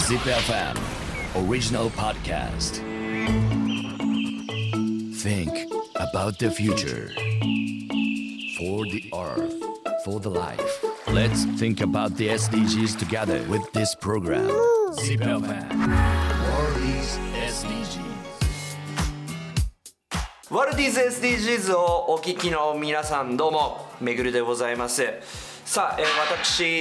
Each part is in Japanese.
Zip FM Original Podcast. Think about the future. For the earth, for the life. Let's think about the SDGs together with this program. Zip FM World is SDGs. ワルディーズ SDGs をお聞きの皆さん、どうもめぐるでございます。さあ、私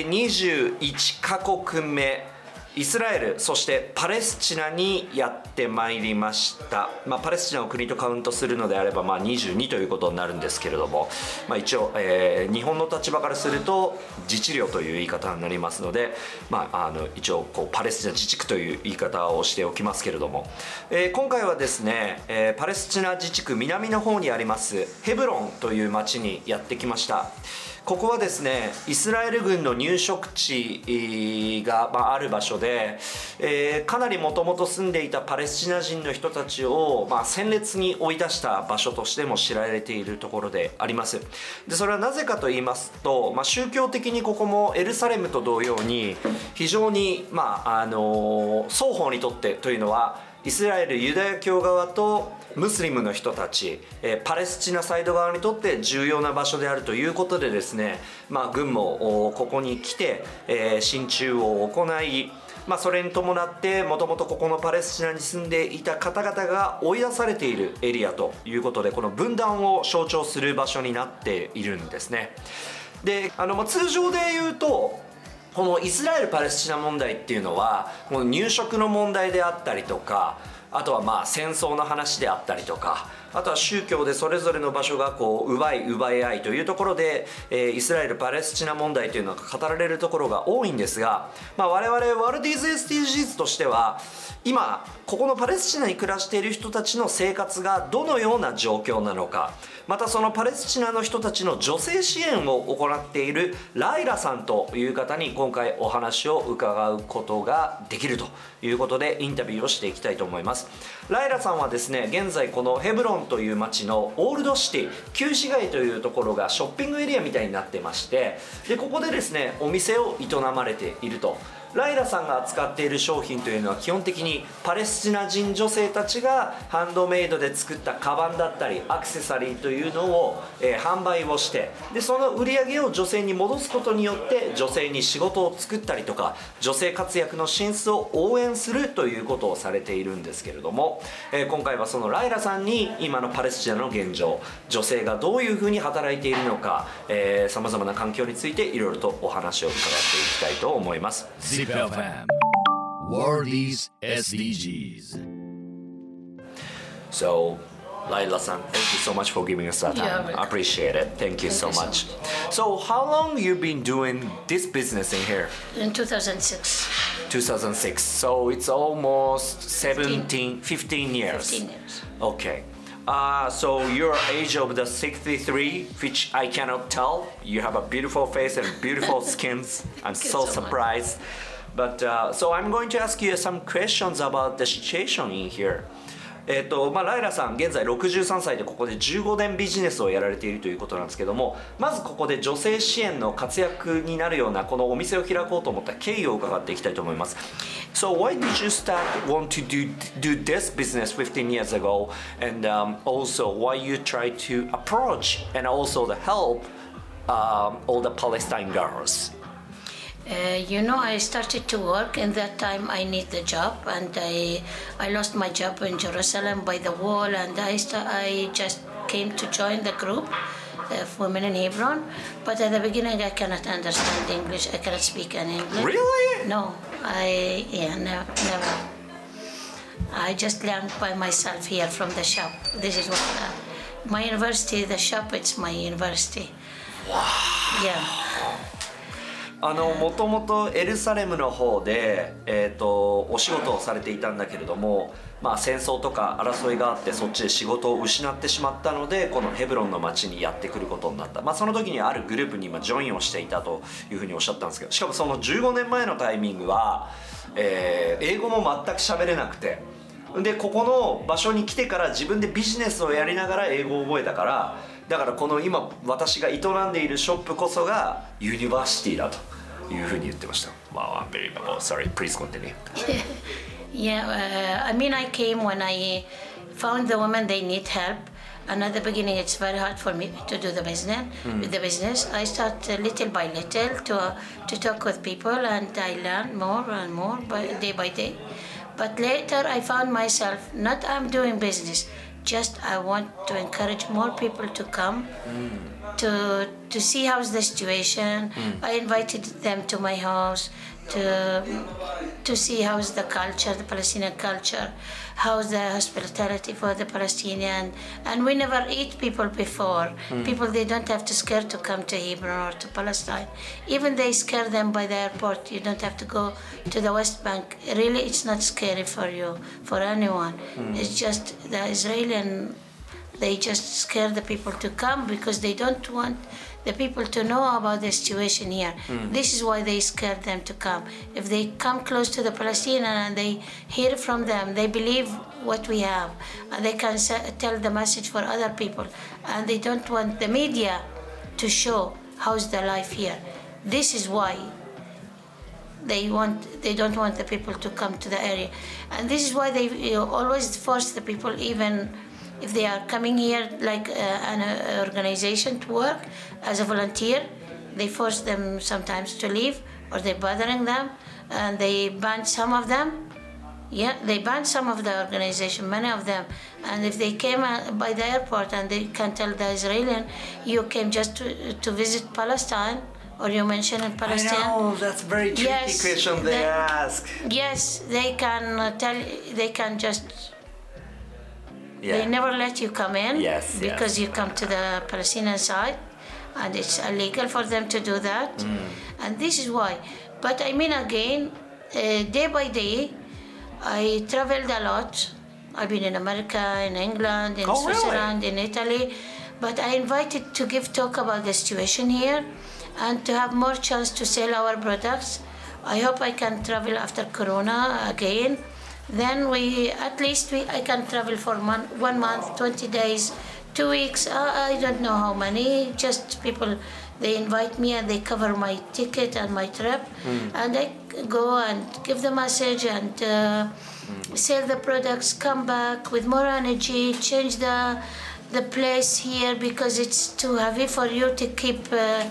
21カ国目イスラエル、そしてパレスチナにやってまいりました。パレスチナを国とカウントするのであれば、22ということになるんですけれども、一応、日本の立場からすると自治領という言い方になりますので、一応パレスチナ自治区という言い方をしておきますけれども、今回はですね、パレスチナ自治区南の方にありますヘブロンという町にやってきました。ここはですね、イスラエル軍の入植地がある場所で、かなりもともと住んでいたパレスチナ人の人たちを戦列に追い出した場所としても知られているところであります。で、それはなぜかと言いますと、宗教的にここもエルサレムと同様に非常に、双方にとってというのはイスラエルユダヤ教側とムスリムの人たち、パレスチナサイド側にとって重要な場所であるということでですね、軍もここに来て、進駐を行い、それに伴ってもともとここのパレスチナに住んでいた方々が追い出されているエリアということで、この分断を象徴する場所になっているんですね。で、通常で言うとこのイスラエル・パレスチナ問題っていうのはこの入植の問題であったりとか、あとは戦争の話であったりとか、あとは宗教でそれぞれの場所が奪い合いというところで、イスラエル・パレスチナ問題というのが語られるところが多いんですが、我々ワルディーズ SDGs としては今ここのパレスチナに暮らしている人たちの生活がどのような状況なのか、またそのパレスチナの人たちの女性支援を行っているライラさんという方に今回お話を伺うことができるということでインタビューをしていきたいと思います。ライラさんはですね、現在このヘブロンという町のオールドシティ旧市街というところがショッピングエリアみたいになってまして、でここでですねお店を営まれていると。ライラさんが扱っている商品というのは基本的にパレスチナ人女性たちがハンドメイドで作ったカバンだったりアクセサリーというのを、販売をして、でその売り上げを女性に戻すことによって女性に仕事を作ったりとか女性活躍の進出を応援するということをされているんですけれども、今回はそのライラさんに今のパレスチナの現状、女性がどういうふうに働いているのか、さまざまな環境についていろいろとお話を伺っていきたいと思います。 Zip FM World is SDGs. So, Laila-san, thank you so much for giving us that time. I appreciate it. Thank you so much. So, how long you been doing this business in here? In 2006. 2006. So, it's almost 15 years. 15 years. Okay. So your age of the 63, which I cannot tell. You have a beautiful face and beautiful skins. I'm so surprised. But so I'm going to ask you some questions about the situation in here. ライラさん現在63歳でここで15年ビジネスをやられているということなんですけども、まずここで女性支援の活躍になるようなこのお店を開こうと思った経緯を伺っていきたいと思います。So why did you want to do this business 15 years ago, and also why you try to approach and also to help all the Palestine girls? I started to work, and that time I need the job, and I lost my job in Jerusalem by the wall, and I just came to join the group of women in Hebron. But at the beginning I cannot understand English, I cannot speak any English. Really? No, never. I just learned by myself here from the shop. This is what my university, the shop, it's my university. Wow. Yeah. もともとエルサレムの方で、お仕事をされていたんだけれども、戦争とか争いがあってそっちで仕事を失ってしまったのでこのヘブロンの町にやってくることになった、その時にあるグループにジョインをしていたというふうにおっしゃったんですけど、しかもその15年前のタイミングは、英語も全く喋れなくて、でここの場所に来てから自分でビジネスをやりながら英語を覚えたから、だからこの今私が営んでいるショップこそがユニバーシティだと。 いうふうに言ってました。Wow, unbelievable. Sorry, please continue. Yeah, I mean, I came when I found the women they need help. And at the beginning, it's very hard for me to do the business. With the business, I start little by little to talk with people, and I learn more and more day by day. But later, I found myself not I'm doing business. Just I want to encourage more people to come to see how's the situation. I invited them to my house to see how's the culture, the Palestinian culture, how's the hospitality for the Palestinian. And we never eat people before. People, they don't have to scare to come to Hebron or to Palestine. Even they scare them by the airport. You don't have to go to the West Bank. Really, it's not scary for you, for anyone. It's just the Israeli, they just scare the people to come because they don't want the people to know about the situation here. This is why they scare them to come. If they come close to the Palestinian and they hear from them, they believe what we have, and they can tell the message for other people. And they don't want the media to show how's the life here. This is why they don't want the people to come to the area. And this is why they always force the people, even if they are coming here like an organization to work as a volunteer, they force them sometimes to leave, or they're bothering them, and they ban some of them. Yeah, they banned some of the organization, many of them. And if they came by the airport and they can tell the Israeli, you came just to visit Palestine, or you mentioned in Palestine. I know, that's very tricky question they ask. Yes, they can they can just... Yeah. They never let you come in because you come to the Palestinian side, and it's illegal for them to do that. And this is why. But I mean, again, day by day, I traveled a lot. I've been in America, in England, in Switzerland, in Italy. But I invited to give talk about the situation here and to have more chance to sell our products. I hope I can travel after Corona again. Then I can travel for 1 month, 20 days, 2 weeks, I don't know how many. Just people, they invite me and they cover my ticket and my trip. And I go and give the message and sell the products, come back with more energy, change the place here, because it's too heavy for you to keep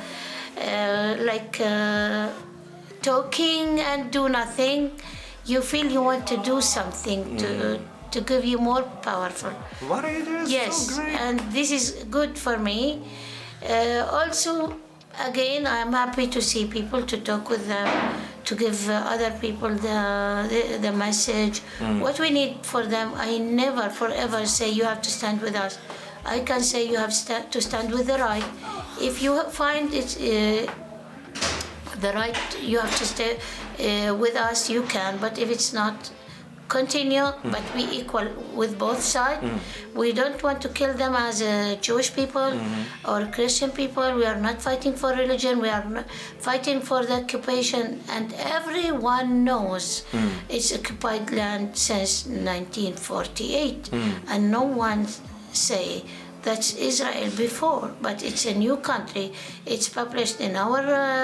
talking and do nothing. You feel you want to do something to give you more powerful. What are you doing? Yes, so great. And this is good for me. Also, again, I'm happy to see people, to talk with them, to give other people the message. What we need for them, I never forever say you have to stand with us. I can say you have to stand with the right. If you find it the right, you have to stay with us, you can. But if it's not, continue, but be equal with both sides. We don't want to kill them as Jewish people or Christian people. We are not fighting for religion. We are not fighting for the occupation. And everyone knows it's occupied land since 1948. And no one say that's Israel before, but it's a new country. It's published in our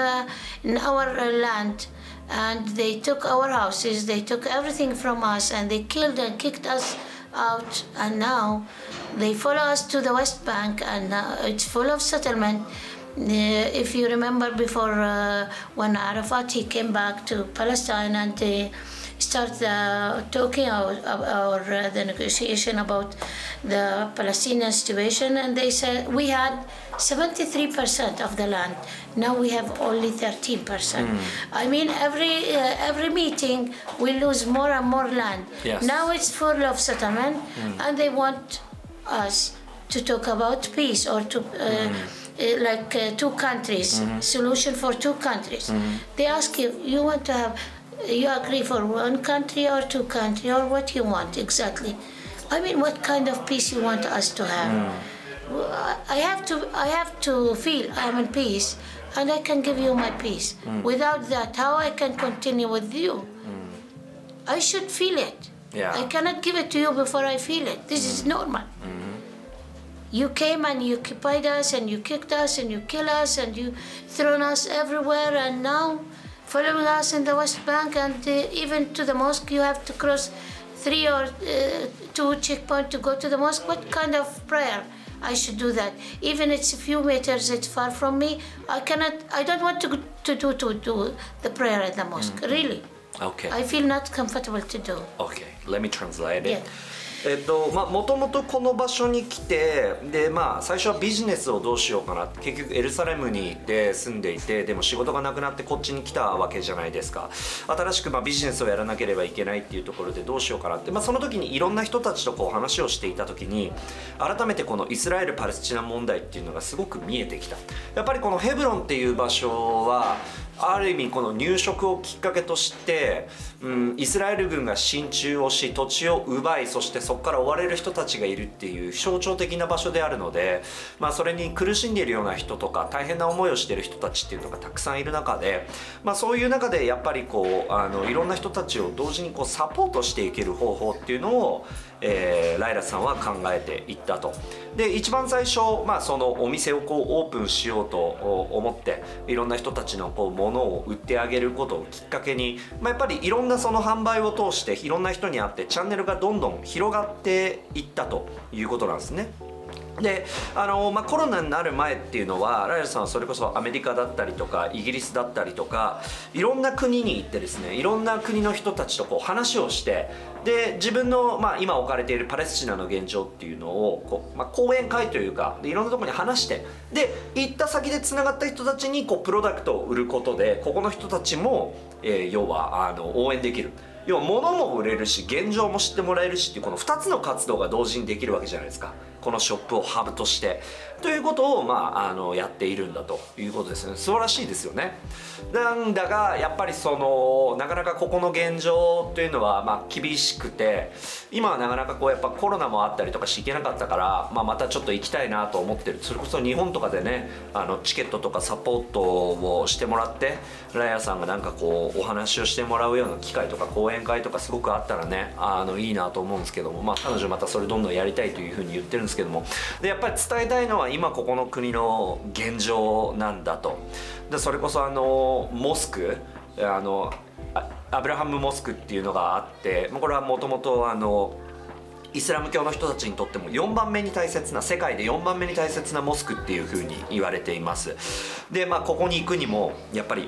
land. And they took our houses, they took everything from us, and they killed and kicked us out. And now they follow us to the West Bank, and now it's full of settlement. If you remember before, when Arafat, he came back to Palestine and they started talking or the negotiation about the Palestinian situation, and they said we had 73% of the land. Now we have only 13%. I mean, every meeting we lose more and more land. Yes. Now it's full of settlement, and they want us to talk about peace or to two countries, solution for two countries. They ask you want to have, you agree for one country or two countries, or what you want exactly? I mean, what kind of peace you want us to have? I have to feel I'm in peace, and I can give you my peace. Without that, how I can continue with you? I should feel it. Yeah. I cannot give it to you before I feel it. This is normal. You came and you occupied us, and you kicked us, and you killed us, and you thrown us everywhere, and now following us in the West Bank, and even to the mosque you have to cross 3 or 2 checkpoints to go to the mosque. What kind of prayer I should do that? Even it's a few meters, it's far from me. I don't want to do the prayer at the mosque, really. Okay. I feel not comfortable to do. Okay, let me translate it. Yeah. もともとこの場所に来て、で最初はビジネスをどうしようかなって、結局エルサレムに住んでいて、でも仕事がなくなってこっちに来たわけじゃないですか。新しくビジネスをやらなければいけないっていうところでどうしようかなって、その時にいろんな人たちとこう話をしていた時に、改めてこのイスラエル・パレスチナ問題っていうのがすごく見えてきた。やっぱりこのヘブロンっていう場所はある意味この入植をきっかけとして、イスラエル軍が進駐をし土地を奪い、そしてそこから追われる人たちがいるっていう象徴的な場所であるので、それに苦しんでいるような人とか大変な思いをしている人たちっていうのがたくさんいる中で、そういう中でやっぱりこういろんな人たちを同時にこうサポートしていける方法っていうのを、ライラさんは考えていったと。で一番最初、そのお店をこうオープンしようと思っていろんな人たちのこう物を売ってあげることをきっかけに、やっぱりいろんなその販売を通していろんな人に会ってチャンネルがどんどん広がっていったということなんですね。でコロナになる前っていうのはライラさんはそれこそアメリカだったりとかイギリスだったりとかいろんな国に行ってですね、いろんな国の人たちとこう話をして、で自分の、今置かれているパレスチナの現状っていうのをこう、講演会というかでいろんなところに話して、で行った先でつながった人たちにこうプロダクトを売ることでここの人たちも、要は応援できる。要は物も売れるし現状も知ってもらえるしっていうこの2つの活動が同時にできるわけじゃないですか、このショップをハブとしてということを、やっているんだということですね。素晴らしいですよね。なんだがやっぱりなかなかここの現状というのは厳しくて、今はなかなかこうやっぱコロナもあったりとかして行けなかったから、またちょっと行きたいなと思ってる。それこそ日本とかでねチケットとかサポートをしてもらってライアさんがなんかこうお話をしてもらうような機会とか講演会とかすごくあったらねいいなと思うんですけども、彼女またそれどんどんやりたいというふうに言ってるんですけども、でやっぱり伝えたいのは今ここの国の現状なんだと。でそれこそモスクアブラハムモスクっていうのがあって、これはもともとイスラム教の人たちにとっても4番目に大切な、世界で4番目に大切なモスクっていうふうに言われています。でここに行くにもやっぱり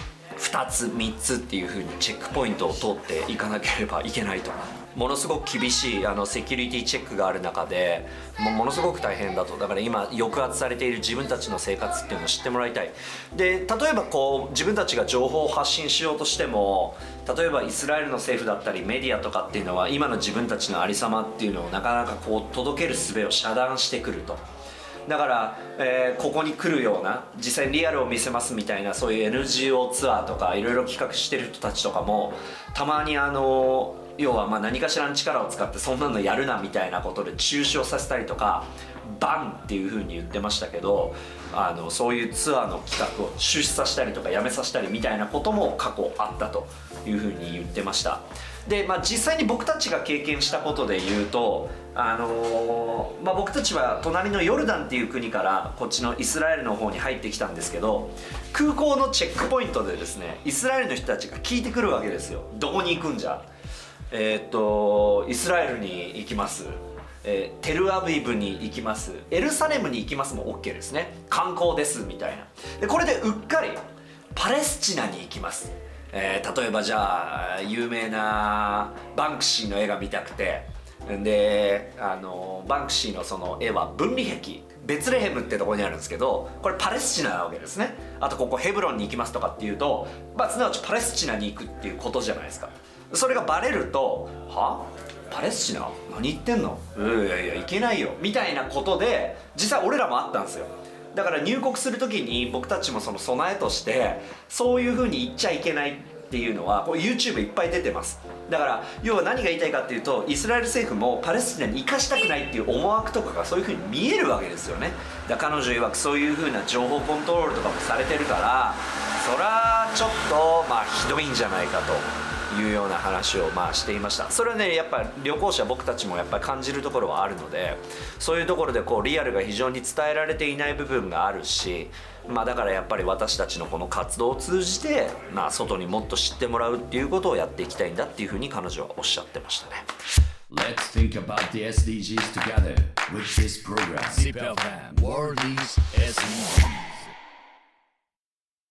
2つ3つっていう風にチェックポイントを通っていかなければいけないと。ものすごく厳しいセキュリティチェックがある中でものすごく大変だと。だから今抑圧されている自分たちの生活っていうのを知ってもらいたい。で例えばこう自分たちが情報を発信しようとしても、例えばイスラエルの政府だったりメディアとかっていうのは今の自分たちのありさまっていうのをなかなかこう届ける術を遮断してくると。だから、ここに来るような実際にリアルを見せますみたいなそういう NGO ツアーとかいろいろ企画してる人たちとかもたまに要は何かしらの力を使ってそんなのやるなみたいなことで中止をさせたりとかバンっていう風に言ってましたけど、そういうツアーの企画を中止させたりとかやめさせたりみたいなことも過去あったという風に言ってました。で実際に僕たちが経験したことで言うと僕たちは隣のヨルダンっていう国からこっちのイスラエルの方に入ってきたんですけど、空港のチェックポイントでですねイスラエルの人たちが聞いてくるわけですよ。どこに行くんじゃ、イスラエルに行きます、テルアビブに行きます、エルサレムに行きますも OK ですね、観光ですみたいな。でこれでうっかりパレスチナに行きます、例えばじゃあ有名なバンクシーの絵が見たくて、でバンクシーのその絵は分離壁ベツレヘムってところにあるんですけど、これパレスチナなわけですね。あとここヘブロンに行きますとかっていうと、すなわちパレスチナに行くっていうことじゃないですか。それがバレるとはパレスチナ何言ってんの、いやいや行けないよみたいなことで実際俺らもあったんですよ。だから入国する時に僕たちもその備えとしてそういう風に言っちゃいけないっていうのはこう YouTube いっぱい出てます。だから要は何が言いたいかっていうと、イスラエル政府もパレスチナに行かしたくないっていう思惑とかがそういう風に見えるわけですよね。だから彼女曰くそういう風な情報コントロールとかもされてるから、そらちょっとひどいんじゃないかというような話をしていました。それはねやっぱ旅行者僕たちもやっぱり感じるところはあるので、そういうところでこうリアルが非常に伝えられていない部分があるし、だからやっぱり私たちのこの活動を通じて、外にもっと知ってもらうっていうことをやっていきたいんだっていうふうに彼女はおっしゃってましたね。 Let's think about the SDGs together with this program. ZIPFM World is SDGs.